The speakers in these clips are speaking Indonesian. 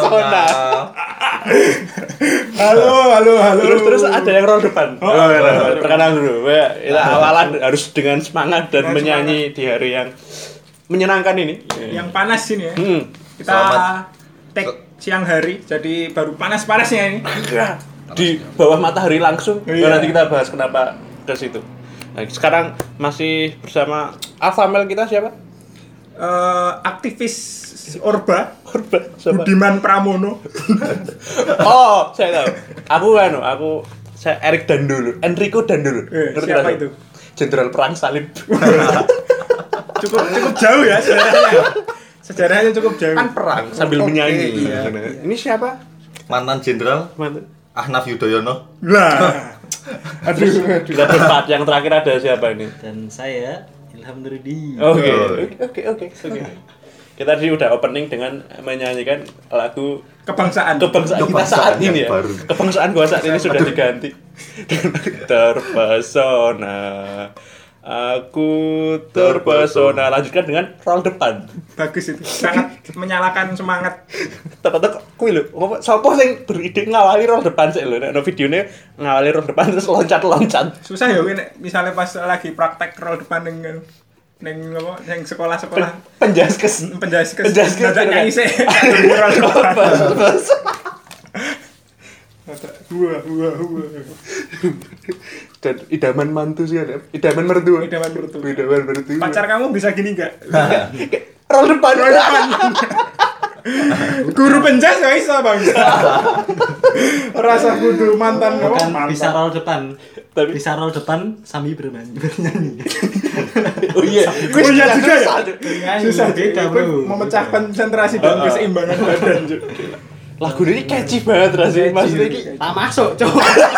terpesona. Halo. Terus ada yang roll depan. Perkenalan dulu. Kita awalan harus dengan semangat dan menyanyi di hari yang menyenangkan ini. Yang panas ini ya. Kita take siang hari, jadi baru panas-panasnya ini. Di bawah matahari langsung. Nanti kita bahas kenapa ke situ. Nah, sekarang masih bersama alpha male kita siapa? Aktivis Orba siapa? Budiman Pramono. Oh, saya tahu. Saya Enrico Dandolo. Siapa itu? Jenderal perang salib. cukup jauh ya sejarahnya cukup jauh. Kan perang sambil menyanyi. Iya. Ini siapa? Mantan jenderal Ahnaf Yudhoyono. Lah. Aduh. Kita berempat, yang terakhir ada siapa ini? Dan saya Ilham Nuridi. Oke. Kita tadi udah opening dengan menyanyikan lagu Kebangsaan kita saat ini ya. Baru. Kebangsaan gua saat ini sudah diganti. Terpesona. Aku terpesona. Lanjutkan dengan roll depan. Bagus itu. Sangat menyalakan semangat. Tetep kuwi lho. Sopo sing beride ngawali roll depan sik lho. Nek videone ngawali roll depan terus loncat-loncat. Susah ya kuwi nek misale pas lagi praktek roll depan ning apa yang sekolah-sekolah penjaskes nyanyi sih roll depan. Wah. Dan idaman mantu sih ada. Idaman mertua. Pacar kamu bisa gini enggak? Roll depan. Guru penjas gak bisa bang. Rasa kudu mantan. Bukan mantan. bisa roll depan, tapi bisa roll depan sambil bernyanyi. Oh iya juga ya. Susah beda bro. Memecah konsentrasi dan keseimbangan badan. Lagu ini catchy banget rasanya. Maksudnya ini Tak masuk, coba.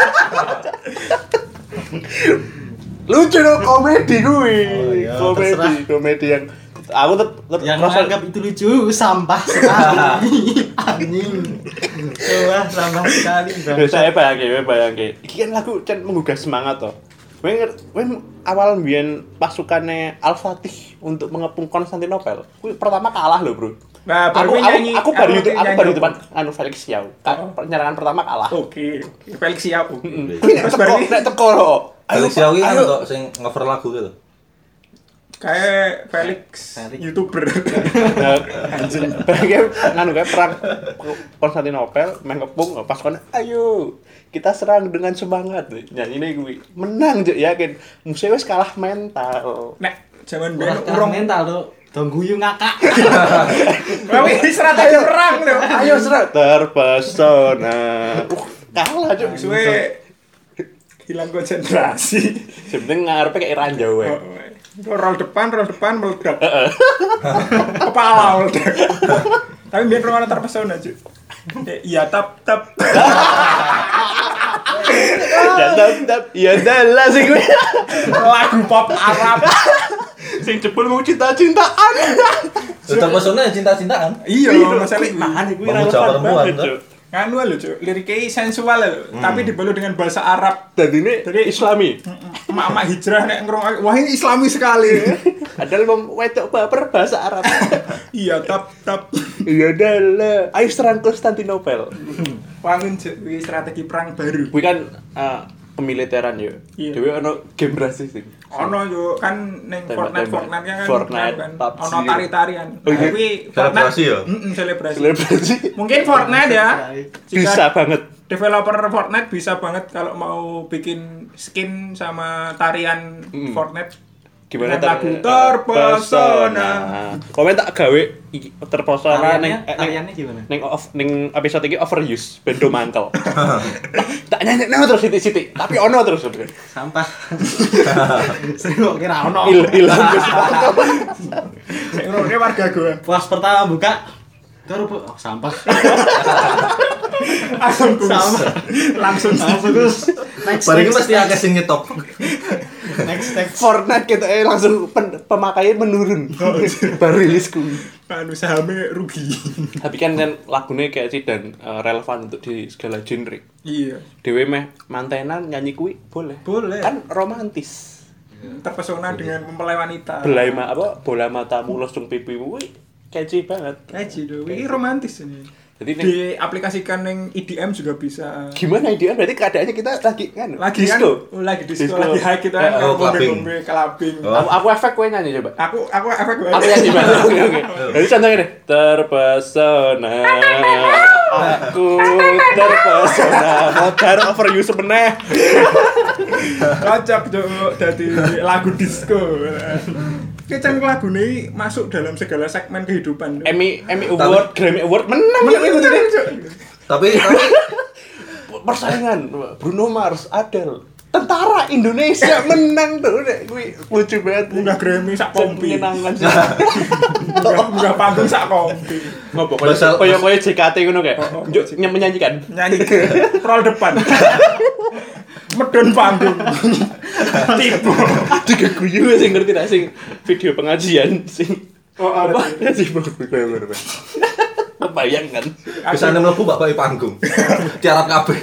lucu dong, komedi gue. iya, Komedi yang aku yang menganggap itu lucu sampah sekali. Anjing. Wah, sampah sekali. Saya bayangke. Iki kan lagu menggugah semangat toh. Kowe awal mbiyen pasukannya Al-Fatih untuk mengepung Konstantinopel. Kuwi pertama kalah lho, Bro. Nah, aku baru itu depan Felix Xiao. Penyerangan pertama kalah. Oke. Felix Xiao. Terus baru nek teko lho. Felix Xiao iki kan kok sing cover lagu gitu. Kayak Felix YouTuber. Anjing. Kayak perang Konstantinopel mengepung pasukan. Ayo, kita serang dengan semangat. Nyanyine kuwi. Menang, yakin. Musuh wis kalah mental. Nek zaman urung mental tuh. Dong guyu ngakak. Tapi strategi perang lho. Ayo serat terpesona. Kalah cuk. Suwe hilang konsentrasi. Sebenarnya ngarepe kayak ranjau wae. Roll depan meledak. Kepala meledak. Tapi biar permainan terpesona cuk. Iya tap. Ya dalah sih gue. Lagu pop Arab. Sing jebul mau cinta-cintaan. Terpesona cinta-cintaan. Iya, masalah mana gue relevan banget. Nganu lho, Cuk. Liriknya sensual lho, tapi dibalut dengan bahasa Arab. Dan ini Islami. Emak-emak hijrah nek ngrung, wah ini Islami sekali. Padahal wedok baper bahasa Arab. Iya, tap. Iya dalah. Ayo serang Konstantinopel. Wangun iki strategi perang baru. Kuwi kan kemiliteran yo. Dewe ono game berhasil sih. Ono yo kan ning Fortnite kan PUBG. ono tari-tarian. Kuwi selebrasi ya? Selebrasi. Mungkin Fortnite ya. Bisa banget. Developer Fortnite bisa banget kalau mau bikin skin sama tarian Fortnite. Gimana lagu terpesona. Komen tak gawe terpesona tariannya gimana? Ning episode iki overuse bendo mantel. Tak nyanyi terus sithik-sithik, tapi ono terus. Sampah. Sing kok kira ono. Hilang. Sing ngene warga gua. Pas pertama buka sampah. Langsung terus next pasti akeh sing nyetop. Next Fortnite kita langsung pemakaian menurun. Baru rilis kuwi. Anu sahamnya rugi. Tapi kan lagunya kayak sih dan relevan untuk di segala genre. Iya. Dewe meh mantenan nyanyi kuwi boleh. Boleh. Kan romantis. Terpesona dengan mempelai wanita. Bola matamu losung pipimu kuwi catchy banget. Catchy dong. Ini romantis ini. Jadi diaplikasikan yang EDM juga bisa. gimana IDM? Berarti keadaannya kita lagi kan Disco. Lagi disco, lagi high kita kan ngombe-ngombe clubbing. Aku efek kowe nyanyi coba. Aku efek gue. Aku nyanyi Mas. Oke. Jadi contohnya nih, terpesona aku terpesona modern over you sebenarnya. Kocok dari lagu disco. Kecang lagu ini masuk dalam segala segmen kehidupan. Emmy Award, Grammy Award menang ya itu. Tapi Persaingan Bruno Mars, Adele, tentara Indonesia menang tuh. Kuwi lucu banget. Munggah Grammy sak kompi. Menyenangkan sih. Munggah panggung sak kompi. Ngopo koyo JKT ngono kae. Menyanyikan. Nyanyi roll depan. Medon panggung. Tipu. Tiga guyu sing ngerti tak sing video pengajian sing apa sing bener. Kebayang kan. kesana mlebu bapak panggung. Tiarap kabeh.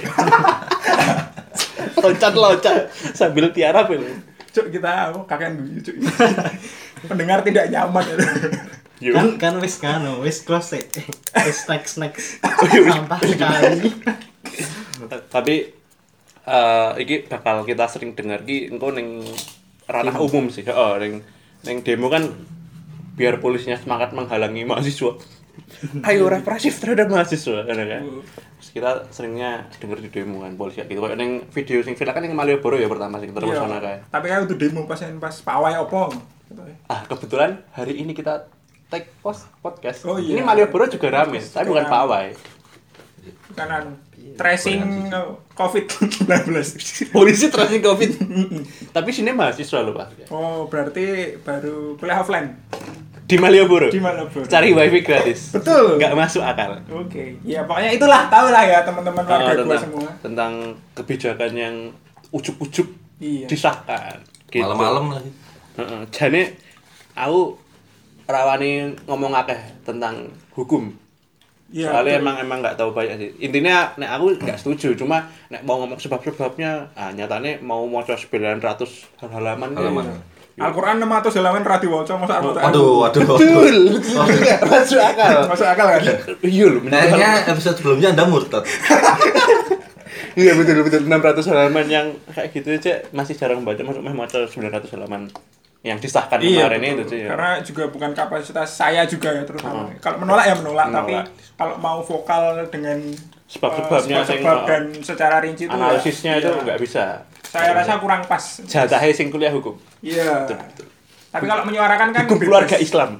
Loncat sambil tiarap ini. Cuk kita kakek guyu cuk. Pendengar tidak nyaman ya. Kan wis close. Wis next. Sampah sekali. Tapi iki bakal kita sering dengar ki engko ning ranah umum sih. Heeh, ning demo kan biar polisinya semangat menghalangi mahasiswa. Ayo represif terhadap mahasiswa kan. Terus kita seringnya denger di demo kan polisi gitu. Kayak ning video sing viral kan ning Malioboro ya pertama sing terpesona kae. Tapi kan itu demo pas pawai opo. Kebetulan hari ini kita take podcast. Oh, iya. Ini Malioboro juga rame, tapi bukan pawai. Kanan tracing COVID-19. Polisi tracing COVID. Tapi sini mahasiswa loh, Pak. Oh, berarti baru kuliah offline Di Malioboro. Cari wifi gratis. Betul. Nggak masuk akal. Oke. Ya pokoknya itulah, tahu lah ya teman-teman warga gua semua. Tentang kebijakan yang ujuk-ujuk disahkan. Gitu. Malam-malam lagi. Jane aku rawani ngomong akeh tentang hukum. Ya, soalnya emang nggak tahu banyak sih. Intinya nek aku nggak setuju, cuma nek mau ngomong sebab-sebabnya, nyatanya mau maca 900 halaman. Al-Qur'an 600 halaman ra diwaca masa Al-Qur'an. Waduh. Betul. Masuk akal. Masuk akal kan? Iya lho. Kayaknya episode sebelumnya Anda murtad. Iya betul 600 halaman yang kayak gitu aja masih jarang baca, masuk maca 900 halaman yang disahkan kemarin itu sih. Karena juga bukan kapasitas saya juga ya terutama. Kalau menolak ya menolak, tapi kalau mau vokal dengan sebab-sebabnya sebab dan secara rinci itu analisisnya itu nggak bisa. Saya rasa kurang pas. Jatahnya sing kuliah hukum. Iya. Tapi kalau menyuarakan kan hukum keluarga Islam.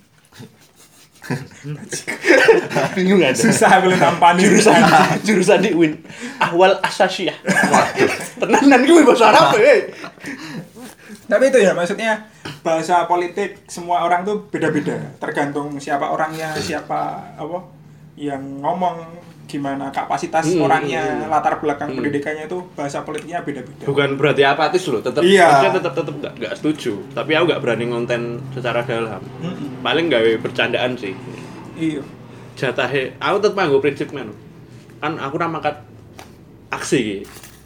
Bingung ada. Susah boleh nampani jurusan di UIN. Ahwal Asasiyah. Waduh. Tenanan gue bahasa Arab Tapi itu ya maksudnya bahasa politik semua orang tuh beda-beda, tergantung siapa orangnya, siapa apa yang ngomong, gimana kapasitas orangnya, latar belakang pendidikannya itu bahasa politiknya beda-beda. Bukan berarti apatis loh, tetap tetap enggak setuju, tapi aku enggak berani ngonten secara dalam. Paling gawe bercandaan sih. Iya. Jatahe aku tetep nganggo prinsip men. Kan aku ra mangkat aksi iki.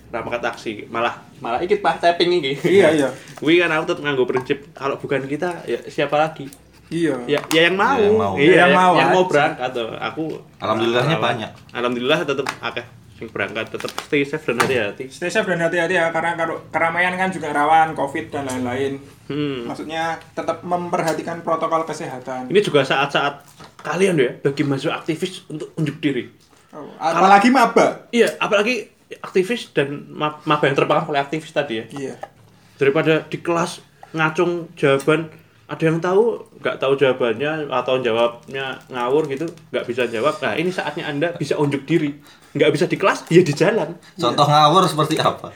Malah iki pas tapping iki. Iya. Kuwi kan aku tetep nganggo prinsip kalau bukan kita ya siapa lagi? Iya. Ya yang mau. Yang mau berangkat tuh. Aku alhamdulillahnya banyak. Alhamdulillah tetep akeh sing berangkat, tetep stay safe dan hati-hati. Stay safe dan hati-hati ya, karena kalau keramaian kan juga rawan Covid dan lain-lain. Maksudnya tetap memperhatikan protokol kesehatan. Ini juga saat-saat kalian ya bagi mahasiswa aktivis untuk unjuk diri. Apalagi maba. Iya, apalagi aktivis dan maba yang terpengaruh oleh aktivis tadi ya. Iya. Daripada di kelas ngacung jawaban, ada yang tahu, nggak tahu jawabannya atau jawabnya ngawur gitu, nggak bisa jawab. Nah ini saatnya Anda bisa unjuk diri. Nggak bisa di kelas, ya di jalan. Contoh ngawur seperti apa?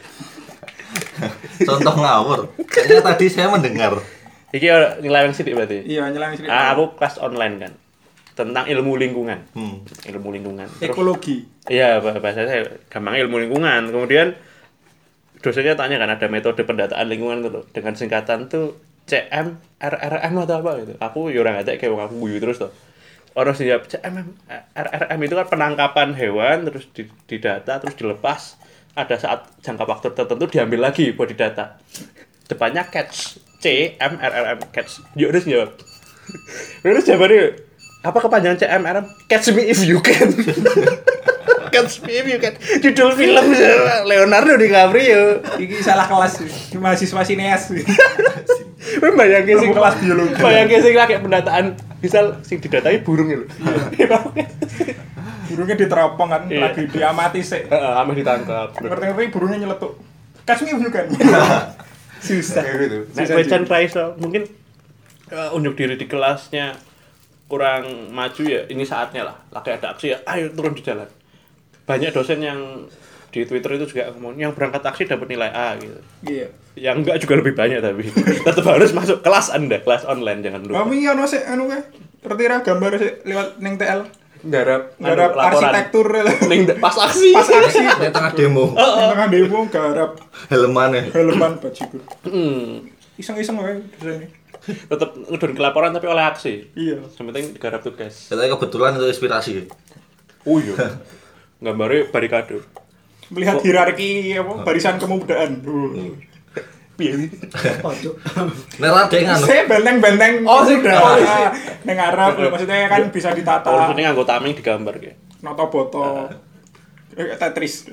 Contoh ngawur. Kayaknya tadi saya mendengar. Iki nyeleweng sithik berarti. Iya, nyeleweng sithik. Aku kelas online kan. Tentang ilmu lingkungan. Ilmu lingkungan. Ekologi. Iya, bahasa saya gampang ilmu lingkungan. Kemudian dosennya tanya kan ada metode pendataan lingkungan tuh dengan singkatan tuh CM RRM atau apa gitu. Aku yo ora ngerti kayak aku guyu terus tuh. Orang sih jawab CM RRM itu kan penangkapan hewan terus didata terus dilepas. Ada saat jangka waktu tertentu diambil lagi buat didata. Depannya catch CM RRM catch. Yo terus jawab. Terus jawabannya apa kepanjangan CMR? Catch Me If You Can. Catch Me If You Can. Judul film Leonardo DiCaprio. Iki salah kelas mahasiswa sineas. Bayangke sing Kelas biologi. Bayangke sing lagi pendataan misal sing didatai burung lho. Burungnya diteropong kan, Iya. lagi diamati sih. Heeh, ameh ditangkap. Ngerti-ngerti burungnya nyeletuk. Catch me if you can. Susah. Gitu. Nek Susah question juga. prize mungkin unjuk diri di kelasnya kurang maju ya, ini saatnya lah. Lagi ada aksi ya, ayo turun di jalan. Banyak dosen yang di Twitter itu juga ngomong yang berangkat aksi dapat nilai A gitu. Iya. Yang enggak juga lebih banyak tapi tetap harus masuk kelas Anda, kelas online jangan lupa. Kami ono sik anu kae. Tertira gambar sik lewat ning TL. Garap Garap arsitektur ning pas aksi. pas aksi Di tengah demo. ning tengah demo garap Helmane. helman bajigur. Hmm. Iseng-iseng wae dosen. Tetap ngedun kelaporan tapi oleh aksi. Iya. Yang penting digarap tugas. Saya kebetulan itu inspirasi. Oh iya. Gambarnya barikade. Melihat hierarki apa barisan kemudaan. Piye? Pojok. Nek ra dhek nganu. Saya benteng-benteng. Oh, sih. udah. Ning Arab maksudnya kan bisa ditata. Oh, ini nganggo tameng digambar kayak. Noto boto. Tetris.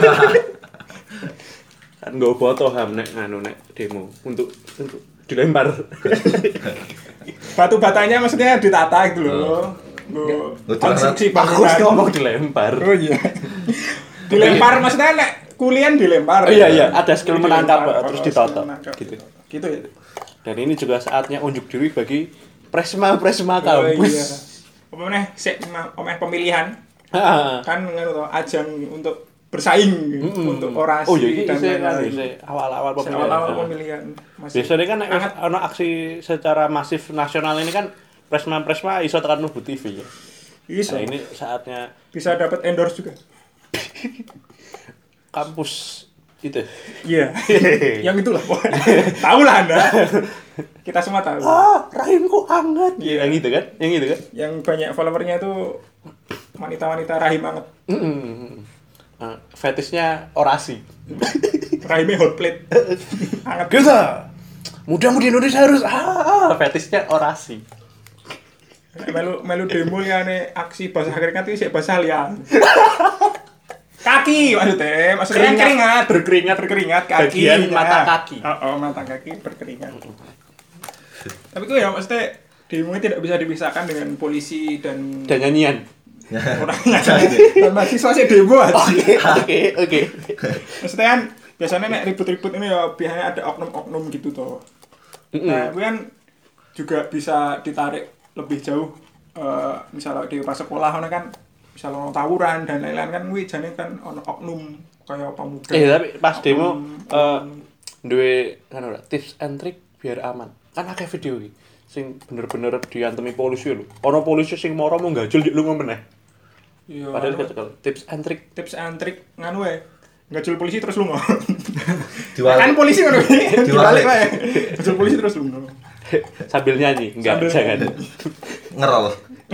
Kan nggo foto ham nek nganu nek demo untuk dilempar. Batu batanya maksudnya ditata gitu loh. Konstruksi Aku bangunan. ngomong dilempar. Oh iya. Dilempar maksudnya nek kuliah dilempar. Oh iya, ada skill menangkap, Dilempar, terus skill ditoto. menangkap. Gitu. Gitu ya. Dan ini juga saatnya unjuk diri bagi presma-presma Oh, kampus. iya. Apa meneh sik pemilihan Heeh. kan ngono to ajang untuk bersaing untuk orasi Oh iya, ini dan saya lain-lain. awal-awal pemilihan. Awal-awal Heeh. pemilihan masih Biasanya kan nek hangat. ono aksi secara masif nasional ini kan presma-presma iso tekan mlebu TV ya. Bisa. Nah, ini saatnya Bisa dapat endorse juga. kampus itu. Iya. Yang itulah. Tahu lah Anda. Kita semua tahu. Rahimku hangat. Iya, yang itu kan? Yang itu kan? Yang banyak followernya itu wanita-wanita rahim banget. Nah, fetishnya orasi. Rahimnya hot plate. Hangat. Kita muda-mudi Indonesia harus fetishnya orasi. Melu demo liane aksi basah keringat itu sih basah lian. Kaki maksudnya keringat berkeringat kaki Bagian mata kaki. oh mata kaki berkeringat. Tapi itu ya maksudnya demo ini tidak bisa dipisahkan dengan polisi dan Dan nyanyian. orangnya dan mahasiswa sih demo aja. Oke. Maksudnya kan biasanya nek ribut-ribut ini ya biasanya ada oknum-oknum gitu toh. Nah, itu kan juga bisa ditarik lebih jauh. Misalnya di pas sekolah kan misalnya tawuran dan lain-lain kan kuwi jane kan ono oknum kaya pemuda. Tapi pas demo duwe kan ora tips and trick biar aman. Kan akeh video iki sing bener-bener diantemi polisi lho. Ono polisi sing moro mau gajul dik lunga meneh. Iya. Padahal kecekel. Tips and trick. Tips and trick nganu wae. Ngajul polisi terus lunga. Diwalik. Kan polisi ngono iki. Diwalik. Diwalik wae. Ngajul polisi terus lunga. Sambil nyanyi. Enggak, Sambil jangan. Ngerol.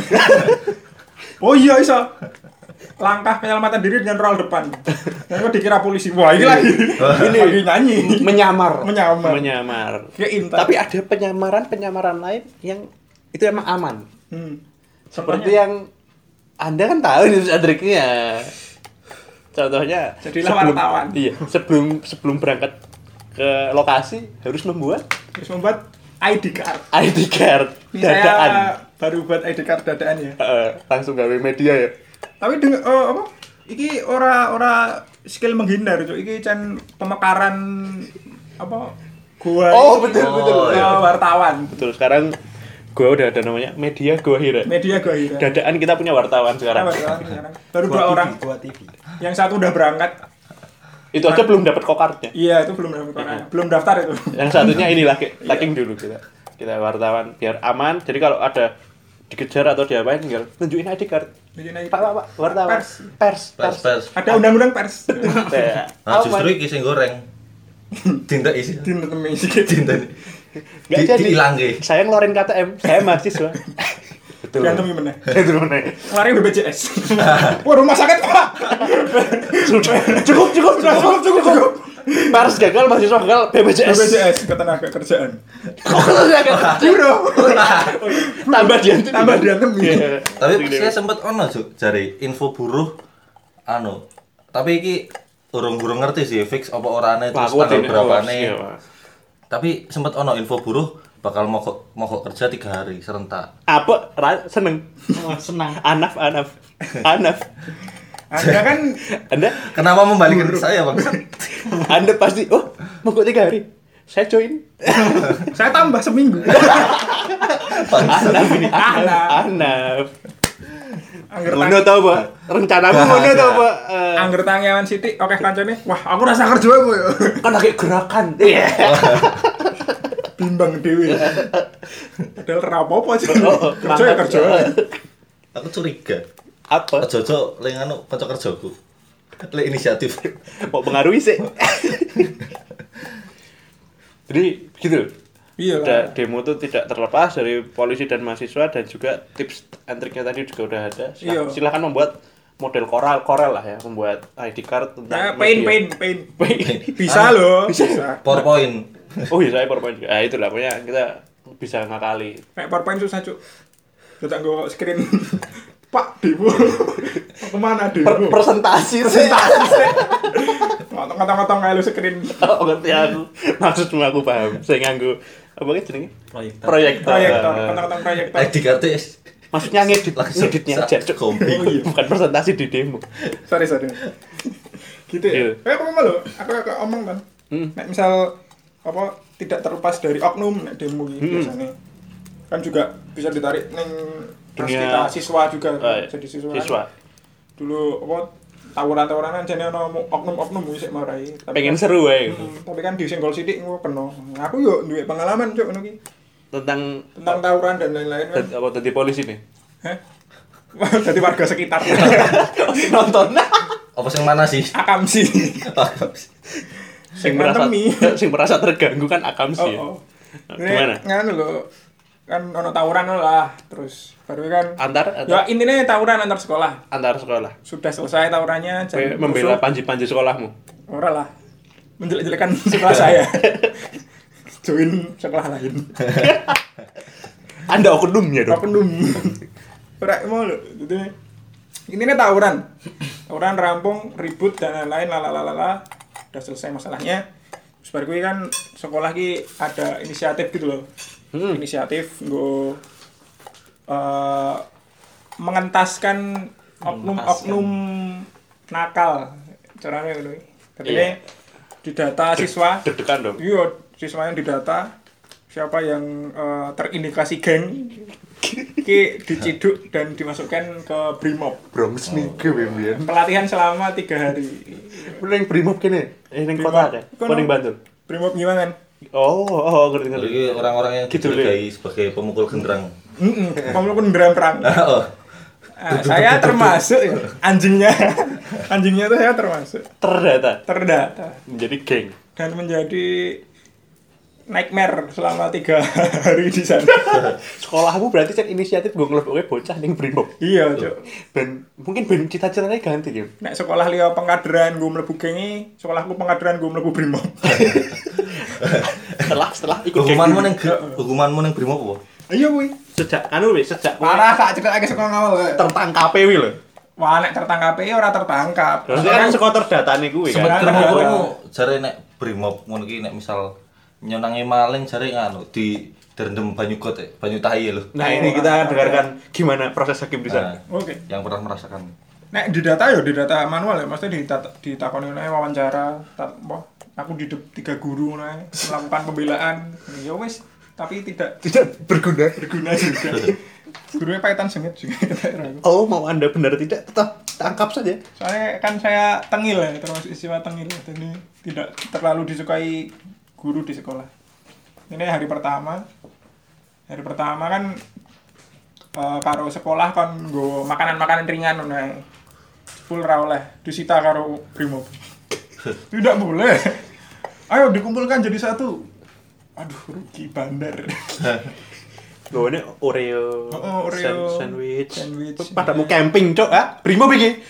Oh iya iso. Langkah penyelamatan diri dengan roll depan. Dan kok dikira polisi. Wah, ini lagi. Ini lagi nyanyi. Menyamar. Menyamar. Ya intan. Tapi ada penyamaran lain yang itu emang aman. Seperti Contohnya? yang Anda kan tahu ini triknya. Contohnya Jadilah wartawan. Iya, sebelum berangkat ke lokasi harus membuat Terus membuat ID card. ID card Ini dadaan. saya baru buat ID card dadaan ya. Langsung gawe media ya. Tapi dengan apa? Iki ora skill menghindar, Cuk. Iki can pemekaran apa? Gua. Oh, betul. Wartawan. Betul, sekarang gua udah ada namanya media gua hira. Media gua hira. Dadaan kita punya wartawan sekarang. Sekarang. Baru 2 orang. Buat TV. Yang satu udah berangkat. Itu aja belum dapat kokardnya. Iya, itu belum daftar. Belum daftar itu. Yang satunya inilah taking dulu kita wartawan biar aman. Jadi kalau ada dikejar atau diapain tinggal tunjukin ID card. Pak, wartawan. Pers. Ada undang-undang pers. Nah, justru iki sing goreng. Tindak isi. Dinetemi sih. Tindak. Nggak jadi. Diilangke. Saya ngeluarin KTM, saya mahasiswa. Betul. Diantemi meneh. Itu mana? Lari BPJS. Wah, rumah sakit, Pak. Cukup. Pers gagal, mahasiswa gagal, BPJS. BPJS ketenaga kerjaan. Biro. Tambah dia. Iya. Tapi saya sempat ono Juk, jare info buruh tapi iki urung ngerti sih fix apa orane terus tanggal berapane. Tapi sempat ono info buruh bakal mogok kerja 3 hari serentak. Apa? Seneng. Oh, senang. Anaf. Anda kan Kenapa membalikkan ke saya, Bang? Anda pasti, mogok 3 hari. Saya join. saya tambah seminggu. Anaf ini. Anaf. Ngono tau, Pak. Rencanamu ngono tau, Pak. Angger tangiawan sithik oke kancane. Wah, aku rasa kerja aku ya. Kan lagi gerakan. Iya. Bimbang dhewe. Padahal ora apa-apa sih. Kerja ya kerja. Aku curiga. Apa? Jojo lek kanca kerjaku. Lek inisiatif. Mau pengaruhi sih. Jadi gitu. Iya Udah, lah. demo itu tidak terlepas dari polisi dan mahasiswa dan juga tips and triknya tadi juga udah ada. Iya. Silakan membuat model korel lah ya, membuat ID card tentang Paint. Bisa loh. Bisa. PowerPoint. Oh iya, saya PowerPoint juga. Itulah pokoknya kita bisa ngakali. Nek PowerPoint susah, Cuk. Kita nggo screen. Pak, demo. Kemana demo? Presentasi sih. Ngotong-ngotong kayak lu screen. Oh, ngerti aku. Maksudmu aku paham. Saya nganggo apa jenenge? Proyektor. Ngotong-ngotong proyektor. ID card Maksudnya Langsung ngeditnya aja, Cuk. kombi. Bukan presentasi di demo. Sorry. Gitu ya. Iya. Kayak apa lo? Aku omong kan. Nek misal apa tidak terlepas dari oknum nek demo iki biasanya. Kan juga bisa ditarik ning kita siswa juga jadi siswa. Dulu apa tawuran-tawuranan jane ono oknum-oknum sik marai. Pengen seru wae. Tapi kan disenggol sithik engko kena. Aku yo duwe pengalaman Cuk ngono ki. Tentang Tawuran dan lain-lain kan. apa tadi polisi nih? Hah? Jadi warga sekitar. Nonton. Apa sing mana sih? Akam sih. Sing merasa terganggu kan akam sih. Oh. Gimana? Nganu lho. Kan ono tawuran lah, terus baru kan Antar ya intinya tawuran antar sekolah. antar sekolah. Sudah selesai tawurannya Kowe membela panji-panji sekolahmu. Ora lah. Menjelek-jelekan sekolah saya. Join sekolah lain. Anda oknumnya dong. Oknum. Ora mau lho. Jadi intinya tawuran. Tawuran rampung, ribut dan lain-lain lalalala. Udah selesai masalahnya. Terus baru gue kan sekolah ki ada inisiatif gitu loh. Inisiatif nggo mengentaskan oknum-oknum nakal. Caranya ngono. Tadinya didata siswa. Deg-degan dong. Iya, siswa yang didata siapa yang terindikasi geng ki diciduk dan dimasukkan ke Brimob. Bronx nih kebimbingan. Pelatihan selama 3 hari. Ning Brimob kene. Ning kota ada. Apa ning Bantul? Brimob gimana? Oh, ngerti. Jadi orang-orang yang Gitu, dicurigai sebagai pemukul genderang. Pemukul genderang perang. Oh. Saya termasuk ya. Anjingnya tuh saya termasuk. Terdata Menjadi geng. dan menjadi nightmare selama 3 hari di sana. Sekolahmu berarti cek inisiatif gue ngelebokke bocah ning Brimob. Iya, Cuk. Ben mungkin ben cita-citanya ganti ya. Nek sekolah liya pengkaderan gue mlebu gengi, sekolahku pengkaderan gue mlebu Brimob. Setelah ikut Hukumanmu ning Brimob apa? Iya kuwi. sejak Parah tak cekel akeh sekolah ngawal kae. tertangkap wi lho. Wah nek tertangkap ya ora tertangkap. Terus kan sekolah terdatane kuwi Sempet kan. krungu jare nek Brimob ngono ki nek misal nyonangi maling jare nganu direndam banyu got banyu tahi lho. Nah, ini kita akan dengarkan gimana proses hakim di sana. Oke. Yang pernah merasakan. Nek di data manual ya, maksudnya ditakoni nae wawancara, aku di 3 guru nae melakukan pembelaan. Ya wis, tapi tidak berguna. juga. Gurunya pahitan sengit juga kata aku. Oh, mau Anda benar tidak tetap tangkap saja. Soalnya kan saya tengil ya, termasuk istilah tengil. Jadi tidak terlalu disukai guru di sekolah. Ini hari pertama. Hari pertama kan karo sekolah kan nggo makanan-makanan ringan nae. Full ra oleh disita karo Brimob. Tidak boleh. Ayo dikumpulkan jadi satu. Aduh, rugi bandar. Loh, ini Oreo, Oreo sandwich. Sandwich. Padamu camping, Cok, ah? Brimob iki.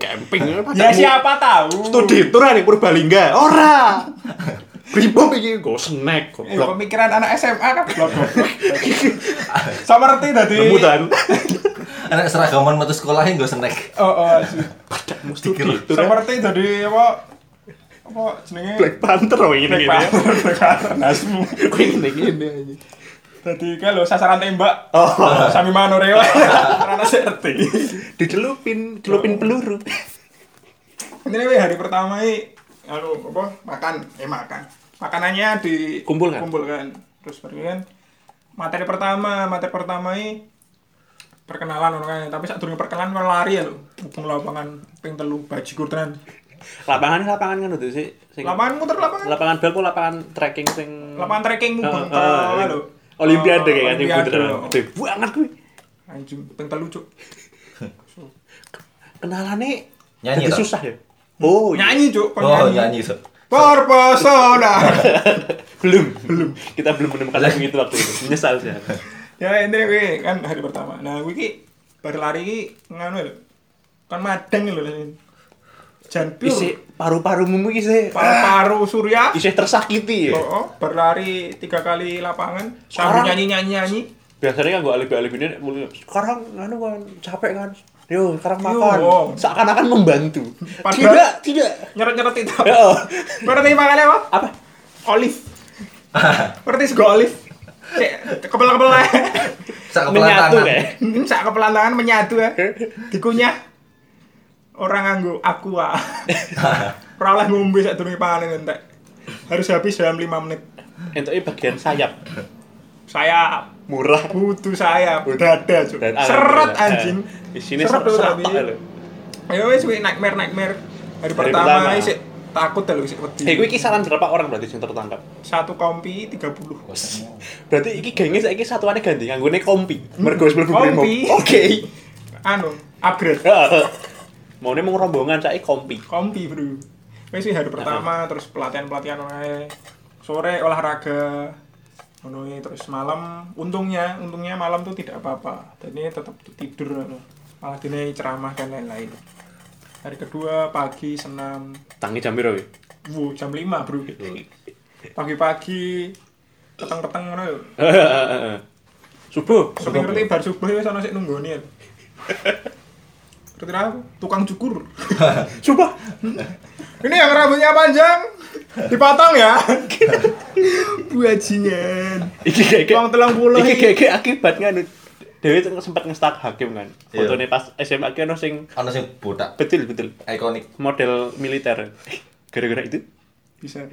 Camping. Ya siapa tahu. Studi tour ning Purbalingga. Ora. Pripom iki go snack goblok. Pemikiran anak SMA kan goblok. Samerti dadi. Remutan. Anak seragaman metu sekolah nggo snack. Padahal studi tour. Samerti dadi apa jenenge Black Panther ngene Black Panther nasmu. Ngene aja. Dadi kae lho sasaran tembak. Sami manore wae. Ora ngerti. Dicelupin peluru. Ini hari pertama makan. Makanannya Kumpulkan. Terus baru kan materi pertama perkenalan orang tapi saat durung perkenalan kan lari ya lho. Hubung lapangan ping 3 bajigur tenan. Lapangan kan itu sih. Lapangan muter lapangan. Lapangan bal kok lapangan trekking sing Lapangan trekking mubeng lho. Olimpiade kayak anjing Olimpiade. beneran. Gede banget kuwi. Anjing ping 3 cuk. Kenalane Nyanyi jadi toh? susah ya. Oh, Nyanyi cuk, kon Oh, nyanyi. nyanyi. So. Terpesona. belum. Kita belum menemukan lagu itu waktu itu. Menyesal sih. Ya ini gue kan hari pertama. Nah gue ki baru lari ki nganu lho. Kan madang lho. Jan pure. Isi paru-parumu iki sih. Paru-paru surya. Isih tersakiti ya. Berlari 3 kali lapangan Sekarang- sambil nyanyi. Biasanya kan gua alih-alih ini sekarang nganu kan capek kan. Yo, sekarang Yo. makan. Seakan-akan membantu. Padahal- Tidak. Nyeret-nyeret itu. Ya. Berarti makannya apa? Apa? Olive. Berarti sego olive. Cek kepala-kepala. Sak Menyatu kepelantangan. kayak. Sak kepelantangan menyatu ya. Dikunyah. Orang nganggo aqua. Ora oleh ngombe sak durunge panen entek. Harus habis dalam 5 menit. Entuke bagian sayap. Saya Murah. butuh saya dada cuk. Dan Seret alhamdulillah. anjing. Di sini Seret tuh seret tapi. lho. Ayo wis kuwi nightmare. Hari pertama. pertama isih takut lho isih wedi. Kuwi kisaran berapa orang berarti sing tertangkap? Satu kompi 30. Berarti iki genge saiki satuane ganti nganggone kompi. Mergo wis mlebu brimo. Kompi. Oke. Anu, upgrade. Maune mau rombongan saiki kompi. Kompi, Bro. Wis hari pertama terus pelatihan wae. Sore olahraga. Ngono terus malam untungnya malam tuh tidak apa-apa. Dan ini tetap tidur malah dene ceramah dan lain-lain. Hari kedua pagi senam. Tangi jam piro kuwi? Jam 5, Bro. Pagi-pagi peteng-peteng ngono lho. Subuh. Ngerti bar subuh wis ana sik nunggoni. Ngerti aku tukang cukur. Subuh. Ini yang rambutnya panjang dipotong ya. Bajingan. Iki Uang 30. Iki akibat nganu. Dewi sempat ngestak hakim kan. Iya. Fotone pas SMA ki ono sing Ana sing botak betul ikonik. model militer. Gara-gara itu Bisa.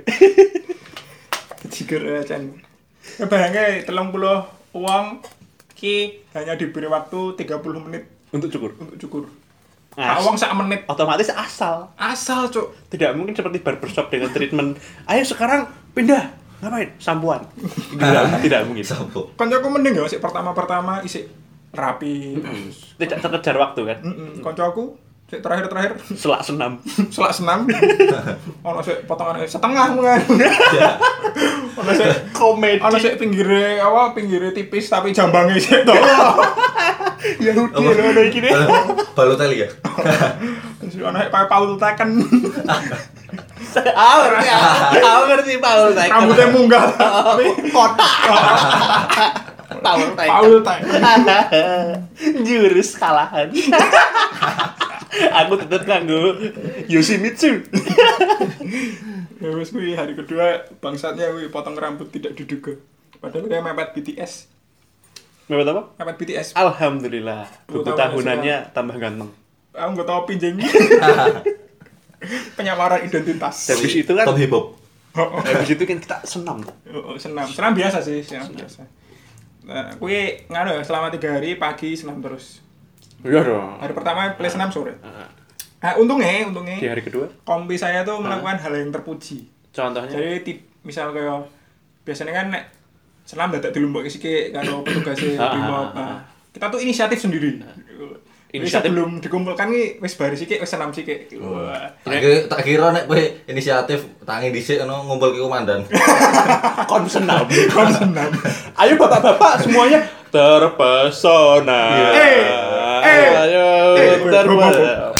Jiger acan. Bayangke 30 uang ki hanya diberi waktu 30 menit untuk cukur. untuk cukur. Nah, Uang sak menit. otomatis asal. Asal, Cuk. Tidak mungkin seperti barbershop dengan treatment. Ayo sekarang pindah. Ngapain? Sampuan. Tidak mungkin. Sampo. Kancaku mending ya sik pertama isik rapi terus. Tidak terkejar waktu kan. Kancaku sik terakhir Selak senam. selak senam. Ono sik potongan setengah mungkin. Ono sik Komedi. ono sik pinggire tipis tapi jambange sik to. Ya udah ono iki deh. Balotelli ya. Terus ono sik Paul Taken. Aku ngerti Paul Taken. Rambutnya munggah tapi Kotak. Paul Taken. Paul Taken. Jurus kalahan. Aku tetep nganggo Yoshimitsu. Ya wis kuwi hari kedua bangsatnya kuwi potong rambut tidak diduga. Padahal kayak mepet BTS. Mepet apa? Mepet BTS. Alhamdulillah, buku Buku tahunannya tambah ganteng. Aku nggak tahu pinjeng. Penyamaran identitas. Habis itu kan, Top hip hop. habis itu kan kita senam. Senam biasa sih, senam biasa. Nah, kuwi nganu ya, selama 3 hari pagi senam terus. Iya dong. Hari pertama play senam sore. Nah, untungnya Di hari kedua, kompi saya tuh melakukan hal yang terpuji. contohnya Jadi misal kayak biasanya kan nek senam dadak dilumpukke sik karo petugasnya Brimob. Nah, kita tuh inisiatif sendiri. Inisiatif. Sebelum dikumpulkan ki wis bar sik, wis senam sik. Wah. Tak kira nek kowe inisiatif tangi dhisik ngono ngumpulke komandan. kon senam. Kon senam. Ayo bapak-bapak semuanya terpesona. Ayo terpesona.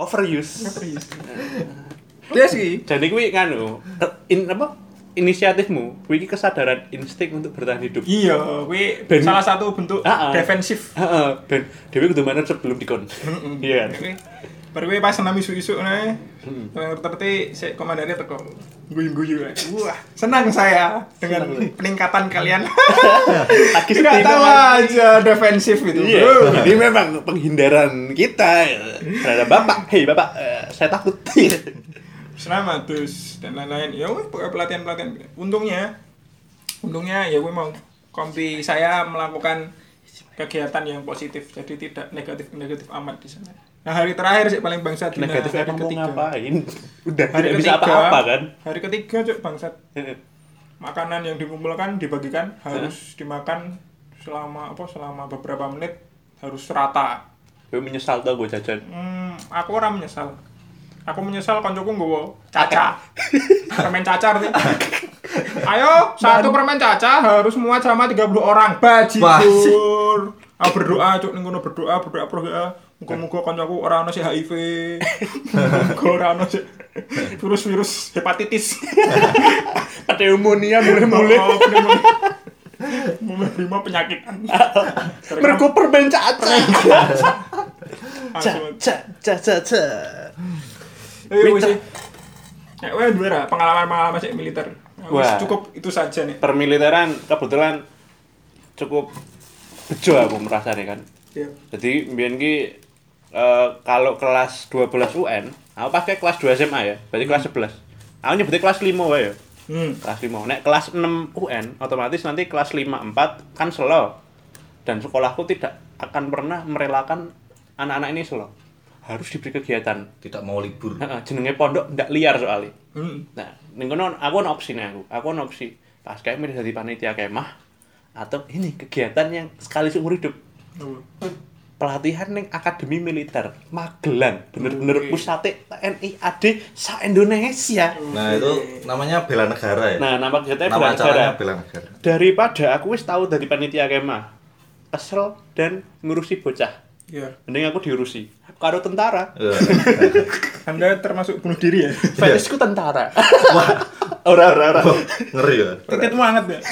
overuse. Iya sih. Jadi kuwi inisiatifmu, kuwi kesadaran insting untuk bertahan hidup. Iya, kuwi salah satu bentuk defensif. Ben dhewe kudu manut sebelum dikon. Iya kan. Baru kuwi pas senam isu-isu nih. Ternyata si komandannya teko guyu-guyu. Wah, senang saya dengan peningkatan kalian. Nggak tahu aja defensif itu. Iya. Ini memang penghindaran kita terhadap Bapak. Hei Bapak, saya takut. Selamat terus dan lain-lain. Ya weh pelatihan. Untungnya ya gue mau kompi saya melakukan kegiatan yang positif, jadi tidak negatif amat di sana. Nah hari terakhir sih paling bangsat di negatif hari emang mau ketiga. Ngapain? Udah Hari tidak bisa ketiga, apa-apa kan? Hari ketiga cuk bangsat. Makanan yang dikumpulkan dibagikan harus dimakan selama beberapa menit harus rata. Gue menyesal tau gue jajan. Aku orang menyesal. Aku menyesal koncoku nggowo caca. Permen cacar nih. Ayo, satu permen caca harus muat sama 30 orang. Bajigur. Aku berdoa cuk ning kono berdoa muga-muga koncoku ora ono sih HIV. Muga ora ono sih virus hepatitis. Pneumonia mulai-mulai. Mulai penyakit. Mergo permen caca. Caca. Wis sih. Nek dua pengalaman sik militer. Cukup itu saja nih. Permiliteran kebetulan cukup bejo aku merasane kan. Iya. Jadi mbiyen ki kalau kelas 12 UN, aku pakai kelas 2 SMA ya. Berarti kelas 11. Aku nyebutnya kelas 5 wae ya. Kelas 5. Nek kelas 6 UN, otomatis nanti kelas 5 4 kan slow. Dan sekolahku tidak akan pernah merelakan anak-anak ini slow. Harus diberi kegiatan. Tidak mau libur. Jenenge pondok ndak liar soalnya. Nah, ning kono aku ono opsine aku ono opsi. Pas kayak milih jadi panitia kemah atau ini kegiatan yang sekali seumur hidup. Pelatihan ning akademi militer Magelang, bener-bener pusate TNI AD se-Indonesia. Nah, itu namanya bela negara ya. Nah, nama kegiatannya Nama bela negara. bela negara. Daripada aku wis tahu dari panitia kemah, kesel dan ngurusi bocah. Iya. Mending aku diurusi karo tentara. Anda termasuk bunuh diri ya? Fetishku tentara. Wah, ora. Ngeri ya. Titikmu hangat ya?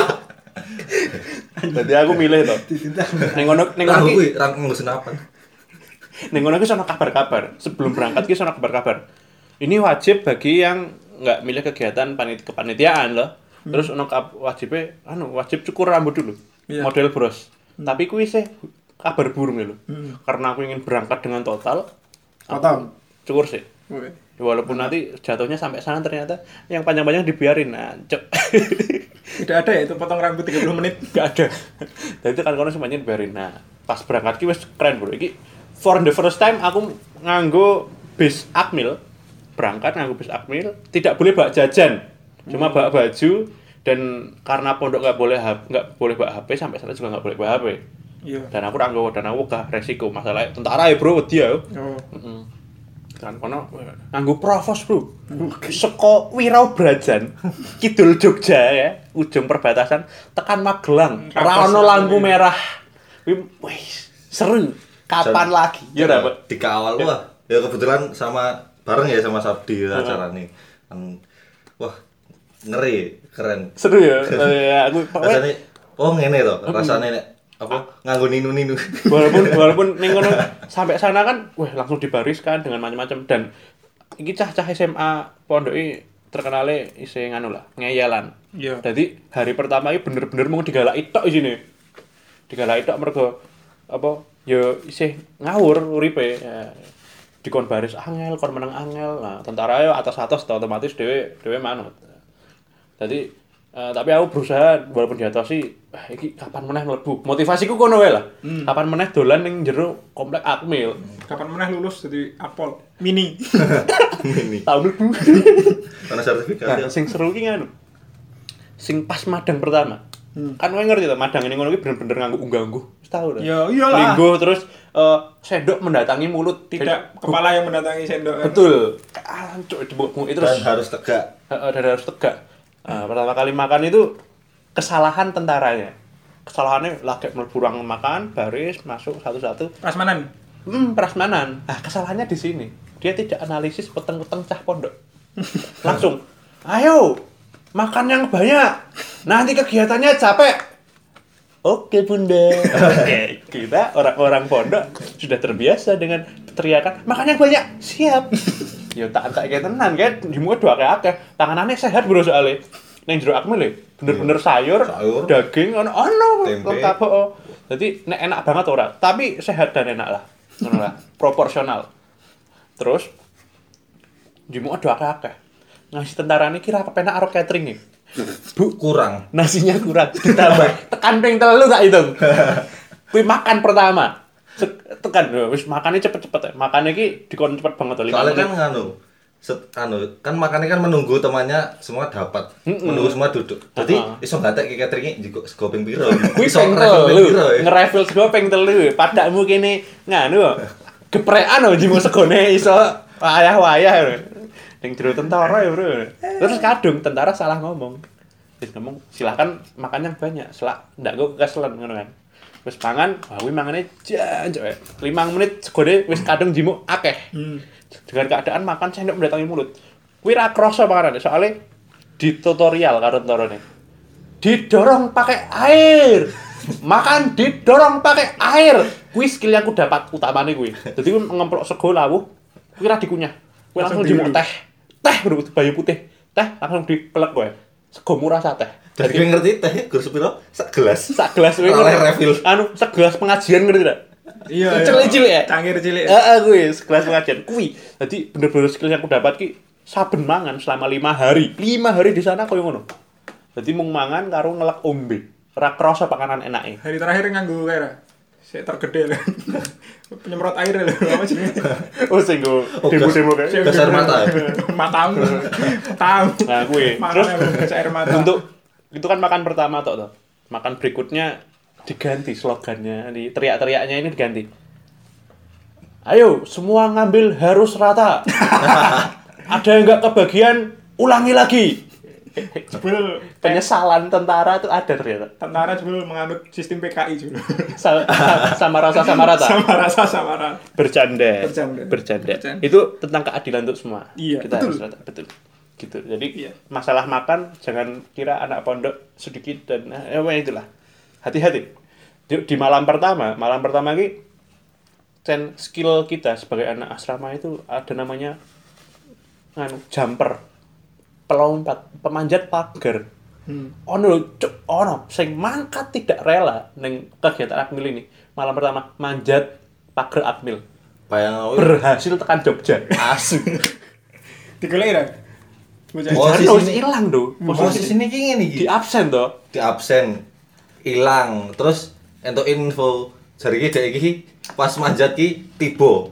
Jadi aku milih to. Ning ngono kuwi ngurusin apa? Ning ngono ki sono kabar-kabar. Sebelum berangkat ki sono kabar-kabar. Ini wajib bagi yang enggak milih kegiatan kepanitiaan loh. Terus ono wajibnya wajib cukur rambut dulu. Model bros. Tapi kuwi sih kabar burung lho. Karena aku ingin berangkat dengan total. Cukur sih. Walaupun nanti jatuhnya sampai sana ternyata yang panjang-panjang dibiarin. Nah, Tidak ada ya itu potong rambut 30 menit. Enggak ada. Dan itu kan kono semuanya dibiarin. Nah, pas berangkat ki wis keren, Bro. Iki for the first time aku nganggo bis Akmil. Berangkat nganggo bis Akmil, tidak boleh bawa jajan. Cuma bawa baju dan karena pondok enggak boleh bawa HP, sampai sana juga enggak boleh bawa HP. Iya. Dan aku gak resiko masalah tentara ya, Bro, wedi ya. Kan kono nganggo provos, Bro. Seko Wirau Brajan, kidul Jogja ya, ujung perbatasan tekan Magelang. Ora ono lampu merah. Wih, seru. Kapan lagi? Ya dapat dikawal wah. Ya kebetulan bareng ya sama Sabdi acara nih. Wah, ngeri, keren. Seru ya. Aku rasane ngene to, rasane nek nganggo ninu-ninu. Walaupun ning kono sampai sana kan langsung dibariskan dengan macam-macam dan iki cah-cah SMA pondoke terkenale isih ngeyelan. Iya. Jadi hari pertama iki bener-bener mau digalaki tok isine. Digalaki tok mergo ya isih ngawur uripe. Ya, dikon baris angel, kon meneng angel. Nah, tentara yo atas-atas otomatis dhewe manut. Jadi tapi aku berusaha walaupun diatosi iki kapan meneh mlebu. Motivasiku kono wae lah. Kapan meneh dolan ning jero komplek Akmil. Kapan meneh lulus jadi Akpol mini. Tahun mlebu. Karena sertifikat. Nah, sing seru ki sing pas madang pertama. Kan kowe ngerti to, madang ning ngono ki bener-bener nganggo ungguh-ungguh. Wis tau to. Ya iyalah. Linggo terus sendok mendatangi mulut, tidak kepala yang mendatangi sendok. Betul. Ancuk dibuk terus. Dan harus tegak. Dan harus tegak. Pertama kali makan itu kesalahan tentaranya. Kesalahannya lagi mlebu ruang makan, baris, masuk satu-satu. Prasmanan. Prasmanan. Nah, kesalahannya di sini. Dia tidak analisis peteng-peteng cah pondok. Langsung, ayo makan yang banyak. Nanti kegiatannya capek. Oke bunda. Oke, kita orang-orang pondok sudah terbiasa dengan teriakan makan yang banyak. Siap. Ya tak kayak tenan kan. Dimu doa kayak akeh. Tanganane sehat bro soalnya. Neng jero akmil ya, bener-bener sayur, daging, ono lengkap. Jadi nek enak banget ora, tapi sehat dan enak lah, ngono lah, proporsional. Terus, jimu doa akeh. Ngasih tentara ini kira kepenak karo catering nih. Bu kurang. Nasinya kurang, ditambah tekan ping 3 tak hitung. Kuwi makan pertama. Tekan wis makane cepet-cepet ya. Makane iki dikon cepet banget to 5 Soalnya menit. kan kan makannya kan menunggu temannya semua dapat. Menunggu semua duduk. Jadi iso gatek ki cateringe njiko sego ping piro. Kuwi Iso ping nge-refill ping piro. 3, nge-refill sego ping 3. Padakmu kene nganu kok. Geprekan lho jimu segone iso wayah-wayah. Ning jero tentara ya, Bro. Terus kadung tentara salah ngomong. Wis ngomong, "Silakan makan yang banyak." Selak ndak go kekeselan ngono kan. Wis pangan, kuwi mangane jancuk. 5 menit segone wis kadung jimu akeh. Dengan keadaan makan sendok mendatangi mulut. Kuwi ra krasa panganane, soalnya di tutorial karo tentarane. Didorong pakai air. Makan didorong pakai air. Kuwi skill yang aku dapat utamane kuwi. Dadi kuwi ngemplok sego lawuh, kuwi ra dikunyah. Kuwi langsung dimuk teh. Teh bro, bayu putih. Teh langsung dipelek kowe. Sego murah sa teh. Jadi gue ngerti teh gur sepiro? Sak gelas. Sak gelas kuwi. Oleh refill. Anu, sak gelas pengajian ngerti tidak? Iya. Cilik-cilik ya. Cangkir cilik. Heeh, kuwi sekelas pengajian. Kuwi. Dadi bener-bener skill yang aku dapat ki saben mangan selama 5 hari. 5 hari di sana koyo ngono. Dadi mung mangan karo ngelek ombe. Ora krasa pakanan enake. Hari terakhir nganggo kayak saya tergede lho. Penyemprot air lho, apa jenenge? Oh sing go demo-demo kae. Gas air mata. Matamu. Tahu. Nah, kuwi. Terus Terus air mata. untuk itu kan makan pertama toh. Makan berikutnya diganti slogannya, di teriak-teriaknya ini diganti. Ayo, semua ngambil harus rata. Ada yang nggak kebagian, ulangi lagi. Jebul Penyesalan tentara itu ada ternyata. tentara jebul menganut sistem PKI jebul. Sama rasa sama rata. Sama rata. Bercanda. Bercanda. Itu tentang keadilan untuk semua. Iya, Kita betul. harus rata, betul. Gitu. Jadi Iya. masalah makan jangan kira anak pondok sedikit dan itulah. Hati-hati. Di malam pertama ini skill kita sebagai anak asrama itu ada namanya jumper, pelompat, pemanjat pagar. Ono sing mangkat tidak rela ning kegiatan Akmil ini. Malam pertama manjat pagar Akmil. Bayang Berhasil tekan Jogja. asu. Digoleki ra? Harus hilang tuh. Posisi ini ki ngene iki. Di absen toh. Di absen. Hilang. Terus entuk info jari ki dek iki pas manjat ki tiba.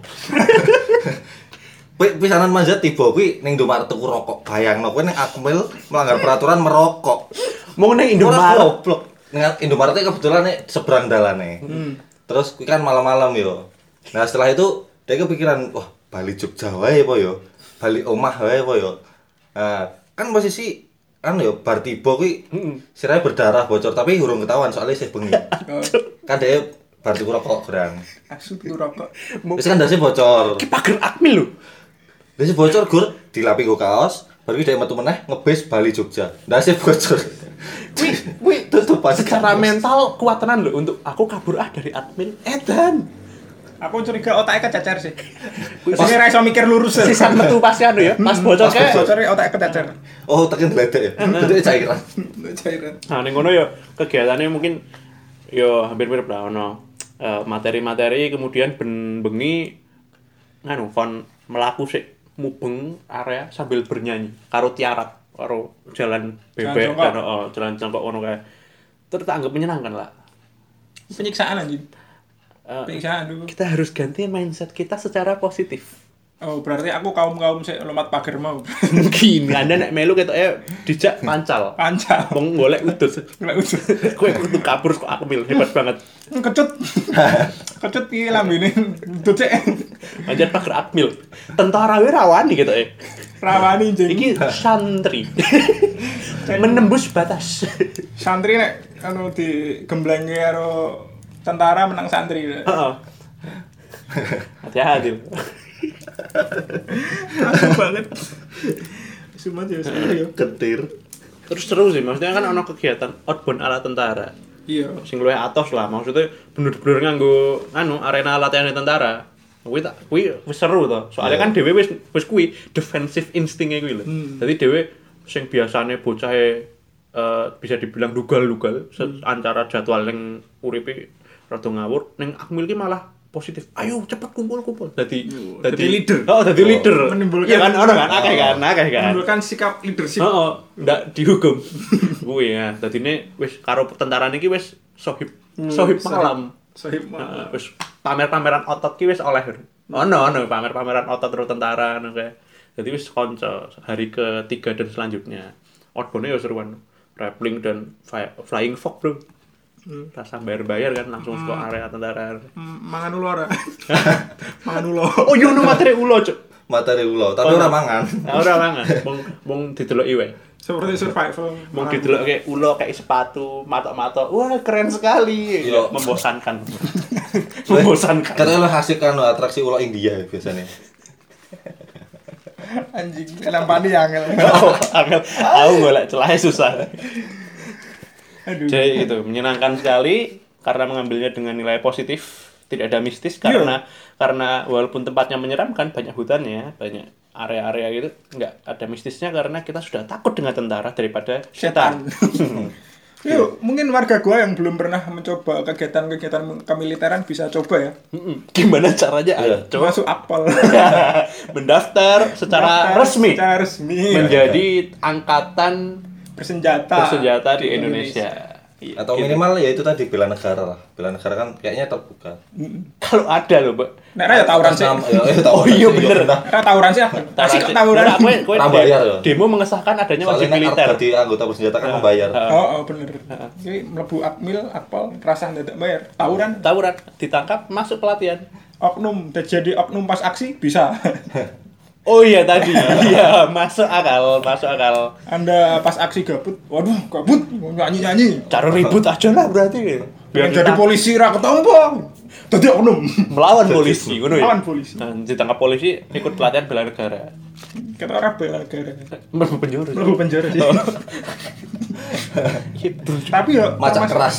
Kuwi pisanan manjat tiba kuwi ning Indomaret tuku rokok. Bayangno kuwi ning Akmil melanggar peraturan merokok. Mau ning Ora Indomaret. goblok. Ning Indomaret kebetulan nek seberang dalane. Terus kuwi kan malam-malam yo. Nah, setelah itu dia kepikiran, wah, bali Jogja wae apa yo? Bali omah wae apa yo? Nah, kan posisi yo bar tiba kuwi sirahe berdarah bocor tapi urung ketahuan soalnya isih bengi. Kan dia bar tuku rokok gerang. Asu tuku rokok. Wis kan dasi bocor. Ki pagar Akmil lho. Dasi bocor gur dilapi go kaos, baru dia metu meneh ngebis bali Jogja. Dasi bocor. Wih, Tutupan secara mental kuat tenan lho untuk aku kabur dari Akmil. Edan. Aku curiga otaknya kececer sih. Sing ra iso mikir lurus. Sisan metu pas anu ya, pas bocor Pas kayak. Bocore otaknya kececer. Oh, tekan gledek ya. Gledek cairan. Cairan. Nah, ning ngono ya kegiatannya mungkin ya hampir mirip lah ono materi-materi kemudian bengi nganu kon melaku sik mubeng area sambil bernyanyi karo tiarap karo jalan bebek kan jalan congkok ngono kae. Terus tak anggap menyenangkan lah. Penyiksaan anjing. Penyiksaan dulu. Kita harus ganti mindset kita secara positif. Oh, berarti aku kaum-kaum sik lompat pagar mau. Mungkin Anda nek melu ketoke dijak pancal. Pancal. Wong golek udut. Golek udut. Kowe kudu kabur kok Akmil hebat banget. Kecut. Kecut iki lambene udut sik. Anjir pagar Akmil. Tentara wae rawani ketoke. Rawani jeng. Iki santri. Menembus batas. Santri nek anu digemblengi karo tentara menang santri. Heeh. Hati-hati. Asu banget. Sumat ya saya. Getir. Terus seru sih, maksudnya kan ono kegiatan outbound ala tentara. Iya. Sing luwih atos lah, maksudnya bener-bener nganggo arena latihan tentara. Kuwi wis seru to. Soalnya kan dhewe wis kuwi defensive instinge kuwi lho. Dadi dhewe sing biasane bocahe bisa dibilang lugal-lugal antara jadwal ning uripe rada ngawur, ning akmil ki malah positif. Ayo cepet kumpul. Dadi leader. Oh, dadi leader. Menimbulkan iya kan ono kan akeh kan. Menimbulkan sikap leadership. Heeh, ndak dihukum. Kuwi ya. Dadine wis karo tentara niki wis sohib malam. Sohib malam. Wis pamer-pameran otot ki wis oleh. Ono pamer-pameran otot terus tentara ngono kae. Dadi wis kanca hari ketiga dan selanjutnya. Outbound-nya ya seruan. Rappling dan flying fox, Bro. Rasa bayar kan langsung ke area tentara. Mangan ulo ora? Mangan ulo. Oh, yo no materi ulo, Cuk. Materi ulo, tapi ora mangan. Ora mangan, mung dideloki wae. Seperti survival. Mung dideloki ulo kayak sepatu, matok-matok. Wah, keren sekali. Iya. Membosankan. Membosankan. Katanya lo asik kan atraksi ulo India biasanya. Anjing, nampani angel. Angel, aku golek celahnya susah. Aduh. Jadi itu menyenangkan sekali karena mengambilnya dengan nilai positif, tidak ada mistis karena walaupun tempatnya menyeramkan, banyak hutannya, banyak area-area gitu, nggak ada mistisnya karena kita sudah takut dengan tentara daripada setan. Yuk, mungkin warga gua yang belum pernah mencoba kegiatan kemiliteran bisa coba ya. Gimana caranya? Ayo, coba Masuk akpol. mendaftar secara resmi menjadi angkatan bersenjata di Indonesia. Atau minimal ya itu tadi bela negara lah. Bela negara kan kayaknya terbuka. Kalau ada loh, Mbak. Nek ra ya tawuran sih. Oh iya bener. Ra tawuran sih. Asik tawuran. Kowe demo mengesahkan adanya wajib militer. Soalnya jadi anggota bersenjata kan membayar. Oh, bener. Jadi mlebu akmil, akpol, rasah dadak bayar. Tawuran Ditangkap, masuk pelatihan. Oknum, jadi oknum pas aksi bisa. Oh iya tadi, iya masuk akal. Anda pas aksi gabut, waduh gabut, nyanyi. Cara ribut aja lah berarti. Biar jadi polisi ra ketompo. Dadi oknum. Melawan polisi, ngono ya. Melawan polisi. Nah, ditangkap polisi ikut pelatihan bela negara. Kata orang bela negara. Mlebu penjara. Sih. Gitu. Tapi ya Macak keras.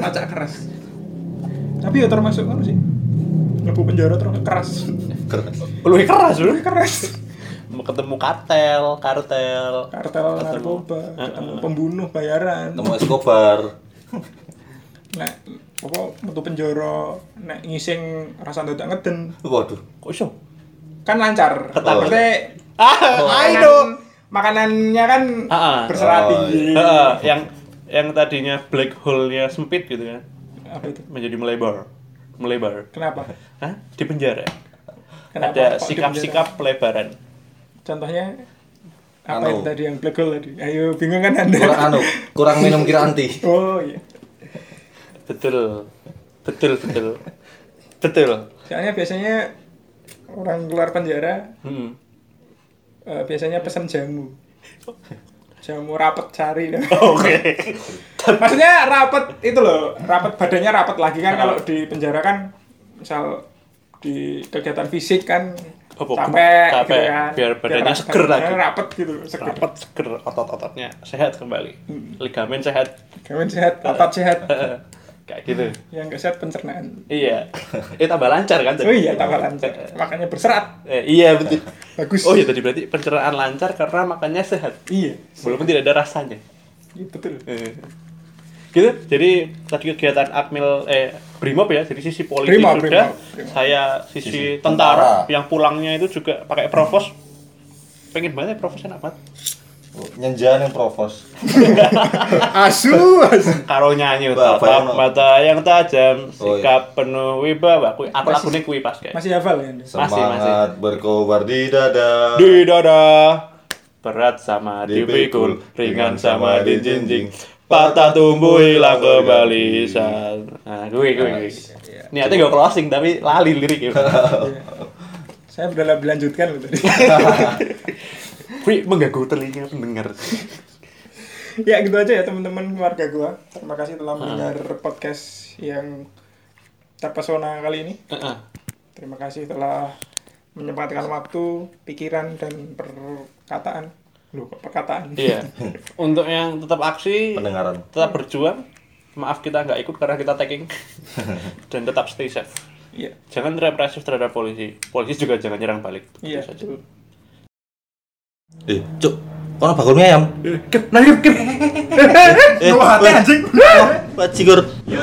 Tapi ya termasuk kan sih. Mlebu penjara terus keras. Lebih keras loh. Keras. Ketemu kartel Narkoba, ketemu pembunuh bayaran. Ketemu Escobar. Nek apa metu penjara nek ngising rasa dadak ngeden. Waduh. Kok iso? Kan lancar. Oh. Makanannya kan berserah tinggi. Yang tadinya black hole-nya sempit gitu kan. Apa itu? Menjadi melebar. Kenapa? Hah? Di penjara. Kenapa Ada kok di sikap-sikap pelebaran. Contohnya apa itu tadi yang black hole tadi? Ayo bingung kan Anda? Kurang minum kiranti. Oh iya. Betul. Soalnya biasanya orang keluar penjara biasanya pesan jamu rapet cari. Oke. Maksudnya rapet itu loh, badannya rapet lagi kan. Kalau di penjara kan misal di kegiatan fisik kan capek gitu kan. Biar badannya seger lagi. Rapet gitu, seger. Otot-ototnya sehat kembali. Ligamen sehat. Otot sehat. Kayak gitu. Yang enggak sehat pencernaan. Iya. Tambah lancar kan? Oh iya, tambah lancar. Makanya berserat. Iya betul. Bagus. Oh iya tadi berarti pencernaan lancar karena makannya sehat. Iya. Walaupun tidak ada rasanya. Iya betul. Gitu. Jadi tadi kegiatan Akmil Brimob ya. Jadi sisi politik Brimob. Saya sisi tentara yang pulangnya itu juga pakai provos. Pengen banget ya provos enak banget. Nyenjan yang provos. Asu. Karo nyanyi tatap mata yang tajam, sikap penuh wibawa. Lagunya kuwi pas kayak. Masih hafal ya? Semangat berkobar di dada. Berat sama dipikul, ringan sama dijinjing. Patah tumbuh hilang kembali. Nah, gue. Niatnya gak closing tapi lali lirik ya. Saya udah lanjutkan loh tadi. Wih, mengganggu telinga pendengar. Ya gitu aja ya teman-teman keluarga gua. Terima kasih telah mendengar podcast yang terpesona kali ini. Terima kasih telah menyempatkan waktu, pikiran dan perkataan. Loh, perkataan. Iya. Untuk yang tetap aksi, Pendengaran. tetap berjuang. Maaf kita nggak ikut karena kita tagging. Dan tetap stay safe. Iya. Jangan represif terhadap polisi. Polisi juga jangan nyerang balik. Iya, Itu saja. betul. Cuk, kono bakul mie ayam. Kep, nah kep. Lu hati anjing. Bajigur.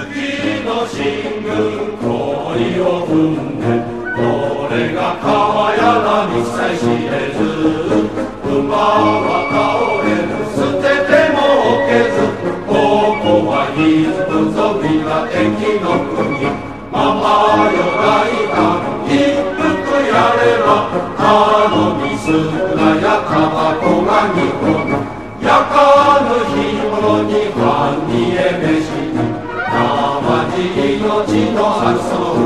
俺が川柳にさえ知れず馬は倒れる捨てても置けずここはヒズ族が敵の国ままよ大胆一服やれば頼み少なやタバコが2本焼かぬ日頃にファンにえめし生地命の発想